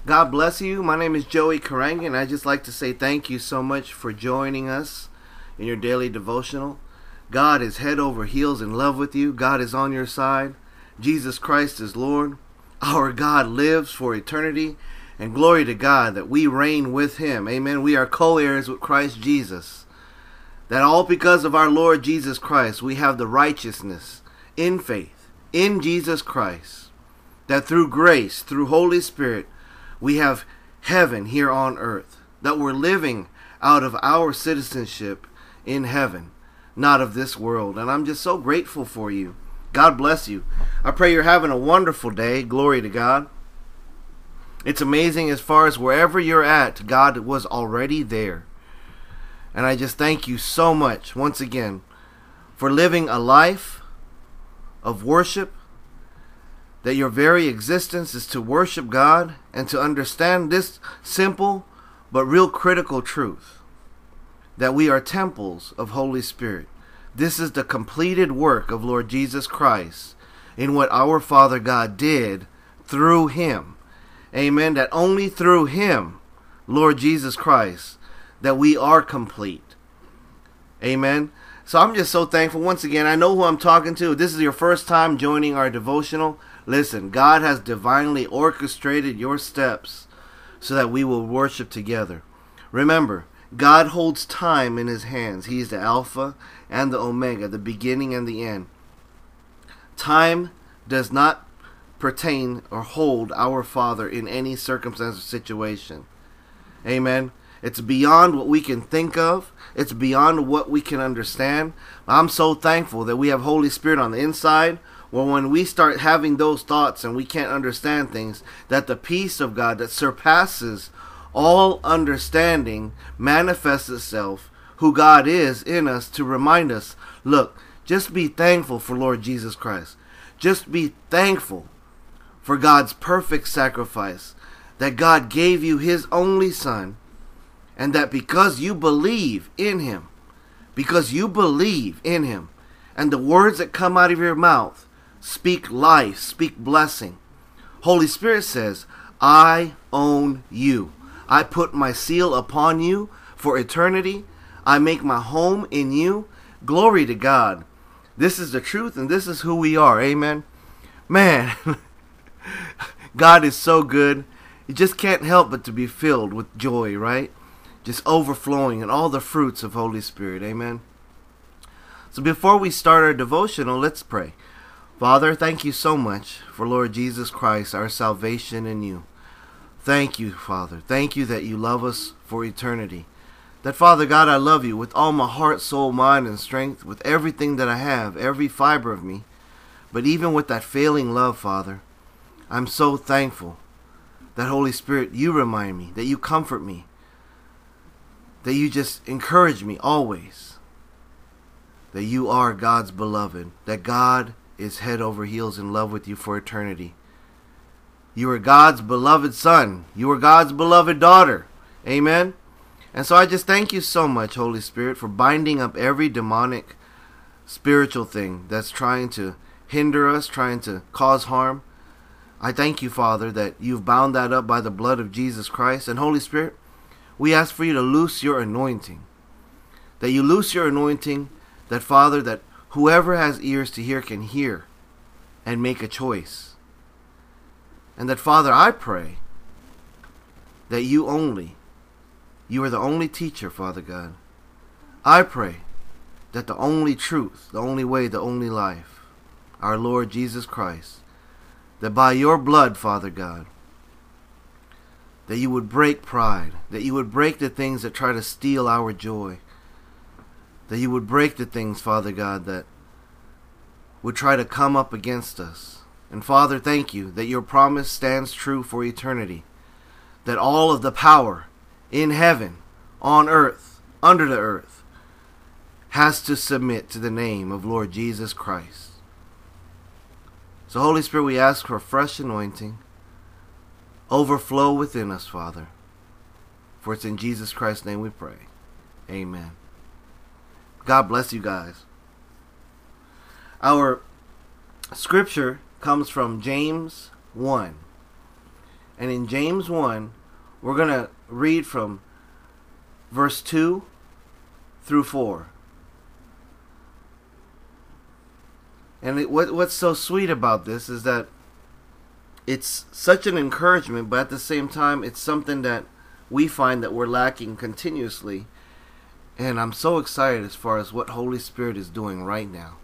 God bless you. My name is Joey Karanga, and I'd just like to say thank you so much for joining us in your daily devotional. God is head over heels in love with you. God is on your side. Jesus Christ is Lord. Our God lives for eternity, and glory to God that we reign with Him. Amen. We are co-heirs with Christ Jesus. That all because of our Lord Jesus Christ, we have the righteousness in faith in Jesus Christ. That through grace, through Holy Spirit, we have heaven here on earth. That we're living out of our citizenship in heaven, not of this world. And I'm just so grateful for you. God bless you. I pray you're having a wonderful day. Glory to God. It's amazing as far as wherever you're at, God was already there. And I just thank you so much, once again, for living a life of worship, that your very existence is to worship God and to understand this simple but real critical truth, that we are temples of Holy Spirit. This is the completed work of Lord Jesus Christ in what our Father God did through Him. Amen. That only through Him, Lord Jesus Christ, that we are complete. Amen. So I'm just so thankful. Once again, I know who I'm talking to. If this is your first time joining our devotional, listen, God has divinely orchestrated your steps so that we will worship together. Remember, God holds time in His hands. He is the Alpha and the Omega, the beginning and the end. Time does not pertain or hold our Father in any circumstance or situation. Amen. It's beyond what we can think of. It's beyond what we can understand. I'm so thankful that we have Holy Spirit on the inside. Well, when we start having those thoughts and we can't understand things, that the peace of God that surpasses all understanding manifests itself, who God is in us, to remind us, look, just be thankful for Lord Jesus Christ. Just be thankful for God's perfect sacrifice, that God gave you His only Son, and that because you believe in Him, and the words that come out of your mouth speak life, speak blessing. Holy Spirit says, I own you. I put my seal upon you for eternity. I make my home in you. Glory to God. This is the truth, and this is who we are. Amen. Man, God is so good. You just can't help but to be filled with joy, right? Just overflowing in all the fruits of Holy Spirit. Amen. So before we start our devotional, let's pray. Father, thank you so much for Lord Jesus Christ, our salvation in you. Thank you, Father. Thank you that you love us for eternity. That, Father God, I love you with all my heart, soul, mind, and strength, with everything that I have, every fiber of me. But even with that failing love, Father, I'm so thankful that, Holy Spirit, you remind me, that you comfort me, that you just encourage me always, that you are God's beloved, that God is head over heels in love with you for eternity. You are God's beloved son. You are God's beloved daughter. Amen. And so I just thank you so much, Holy Spirit, for binding up every demonic spiritual thing that's trying to hinder us, trying to cause harm. I thank you, Father, that you've bound that up by the blood of Jesus Christ. And Holy Spirit, we ask for you to loose your anointing. That you loose your anointing, that, Father, that whoever has ears to hear can hear and make a choice. And that, Father, I pray that you are the only teacher, Father God. I pray that the only truth, the only way, the only life, our Lord Jesus Christ, that by your blood, Father God, that you would break pride, that you would break the things that try to steal our joy, that you would break the things, Father God, that would try to come up against us. And Father, thank you that your promise stands true for eternity, that all of the power in heaven, on earth, under the earth, has to submit to the name of Lord Jesus Christ. So Holy Spirit, we ask for fresh anointing, overflow within us, Father. For it's in Jesus Christ's name we pray. Amen. God bless you guys. Our scripture comes from James 1. And in James 1, we're going to read from verse 2 through 4. And what's so sweet about this is that it's such an encouragement, but at the same time, it's something that we find that we're lacking continuously. And I'm so excited as far as what Holy Spirit is doing right now.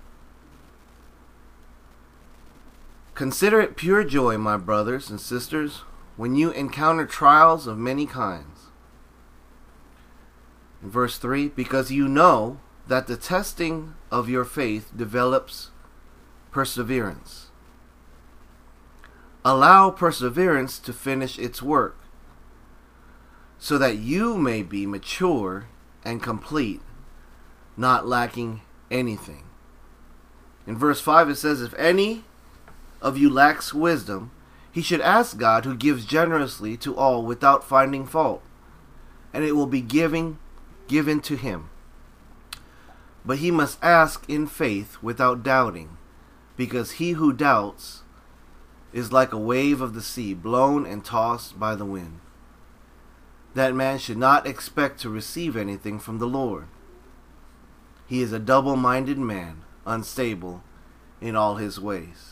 Consider it pure joy, my brothers and sisters, when you encounter trials of many kinds. In verse 3, because you know that the testing of your faith develops perseverance. Allow perseverance to finish its work, so that you may be mature and complete, not lacking anything. In verse 5 it says, if any of you lacks wisdom, he should ask God, who gives generously to all without finding fault, and it will be given to him. But he must ask in faith without doubting, because he who doubts is like a wave of the sea, blown and tossed by the wind. That man should not expect to receive anything from the Lord. He is a double-minded man, unstable in all his ways.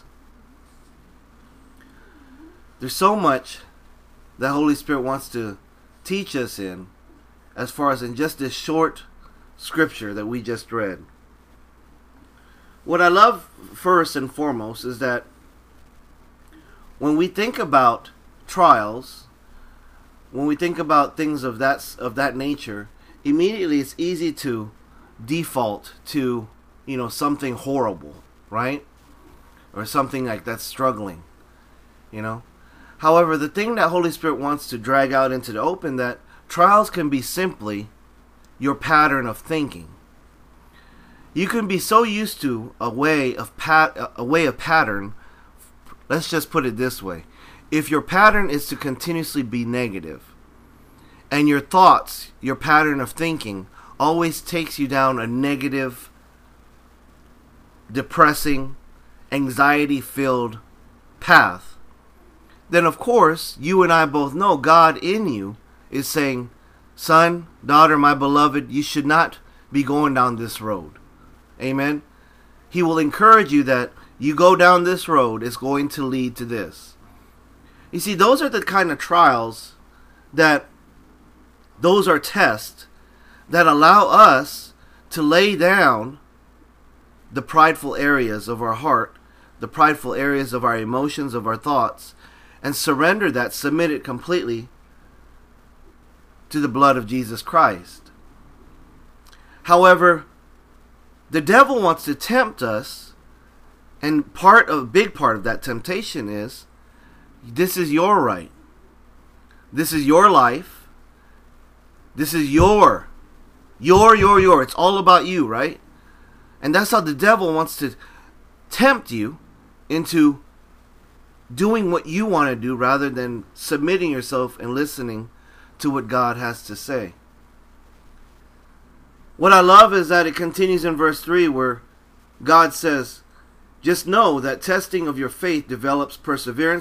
There's so much that Holy Spirit wants to teach us in, as far as in just this short scripture that we just read. What I love first and foremost is that when we think about trials, when we think about things of that nature, immediately it's easy to default to, something horrible, right? Or something like that's struggling, However, the thing that Holy Spirit wants to drag out into the open, that trials can be simply your pattern of thinking. You can be so used to a way of pattern. Let's just put it this way. If your pattern is to continuously be negative, and your thoughts, your pattern of thinking, always takes you down a negative, depressing, anxiety-filled path, then of course, you and I both know God in you is saying, son, daughter, my beloved, you should not be going down this road. Amen? He will encourage you that you go down this road, it's going to lead to this. You see, those are the kind of trials those are tests that allow us to lay down the prideful areas of our heart, the prideful areas of our emotions, of our thoughts, and surrender that, submit it completely to the blood of Jesus Christ. However, the devil wants to tempt us, and a big part of that temptation is, this is your right. This is your life. This is your. It's all about you, right? And that's how the devil wants to tempt you into doing what you want to do rather than submitting yourself and listening to what God has to say. What I love is that it continues in verse 3 where God says, just know that testing of your faith develops perseverance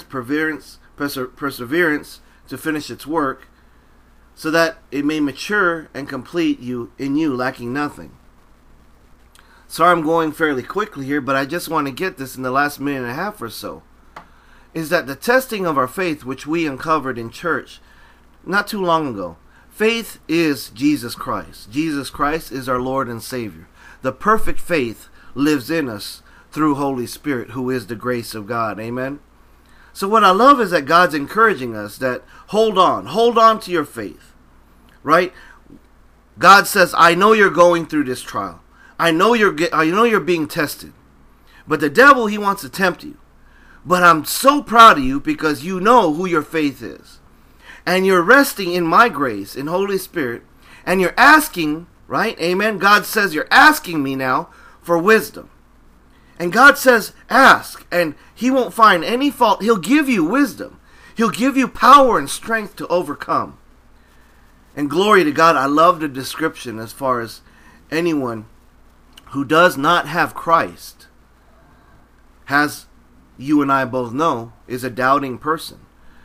to finish its work, so that it may mature and complete you lacking nothing. Sorry I'm going fairly quickly here, but I just want to get this in the last minute and a half or so. Is that the testing of our faith, which we uncovered in church not too long ago. Faith is Jesus Christ. Jesus Christ is our Lord and Savior. The perfect faith lives in us through Holy Spirit, who is the grace of God. Amen? So what I love is that God's encouraging us that hold on to your faith, right? God says, I know you're going through this trial. I know you're being tested. But the devil, he wants to tempt you. But I'm so proud of you because you know who your faith is. And you're resting in my grace, in Holy Spirit. And you're asking, right? Amen. God says you're asking me now for wisdom. And God says, ask. And he won't find any fault. He'll give you wisdom. He'll give you power and strength to overcome. And glory to God, I love the description as far as anyone who does not have Christ, has, you and I both know, is a doubting person.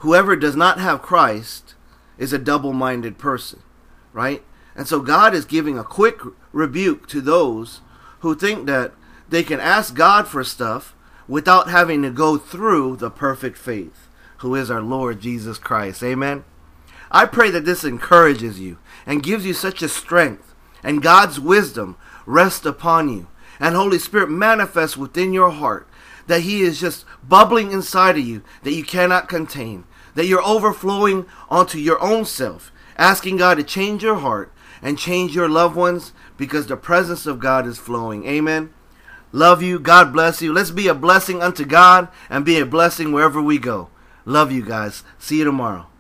whoever does not have Christ is a double-minded person, right? And so God is giving a quick rebuke to those who think that they can ask God for stuff without having to go through the perfect faith, who is our Lord Jesus Christ. Amen. I pray that this encourages you and gives you such a strength, and God's wisdom rests upon you, and Holy Spirit manifests within your heart, that He is just bubbling inside of you that you cannot contain, that you're overflowing onto your own self, asking God to change your heart and change your loved ones, because the presence of God is flowing. Amen. Love you. God bless you. Let's be a blessing unto God and be a blessing wherever we go. Love you guys. See you tomorrow.